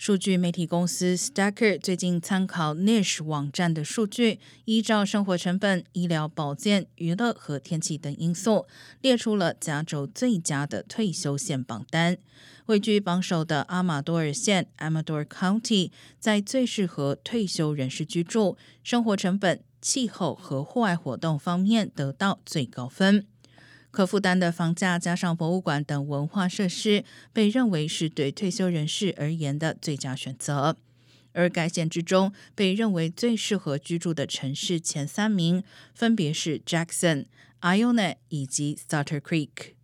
数据媒体公司 Stacker 最近参考 Niche 网站的数据，依照生活成本、医疗保健、娱乐和天气等因素，列出了加州最佳的退休县榜单。位居榜首的阿马多尔县 Amador County 在最适合退休人士居住、生活成本、气候和户外活动方面得到最高分。可负担的房价加上博物馆等文化设施，被认为是对退休人士而言的最佳选择。而该县之中被认为最适合居住的城市前3名，分别是 Jackson、Iona 以及 Sutter Creek。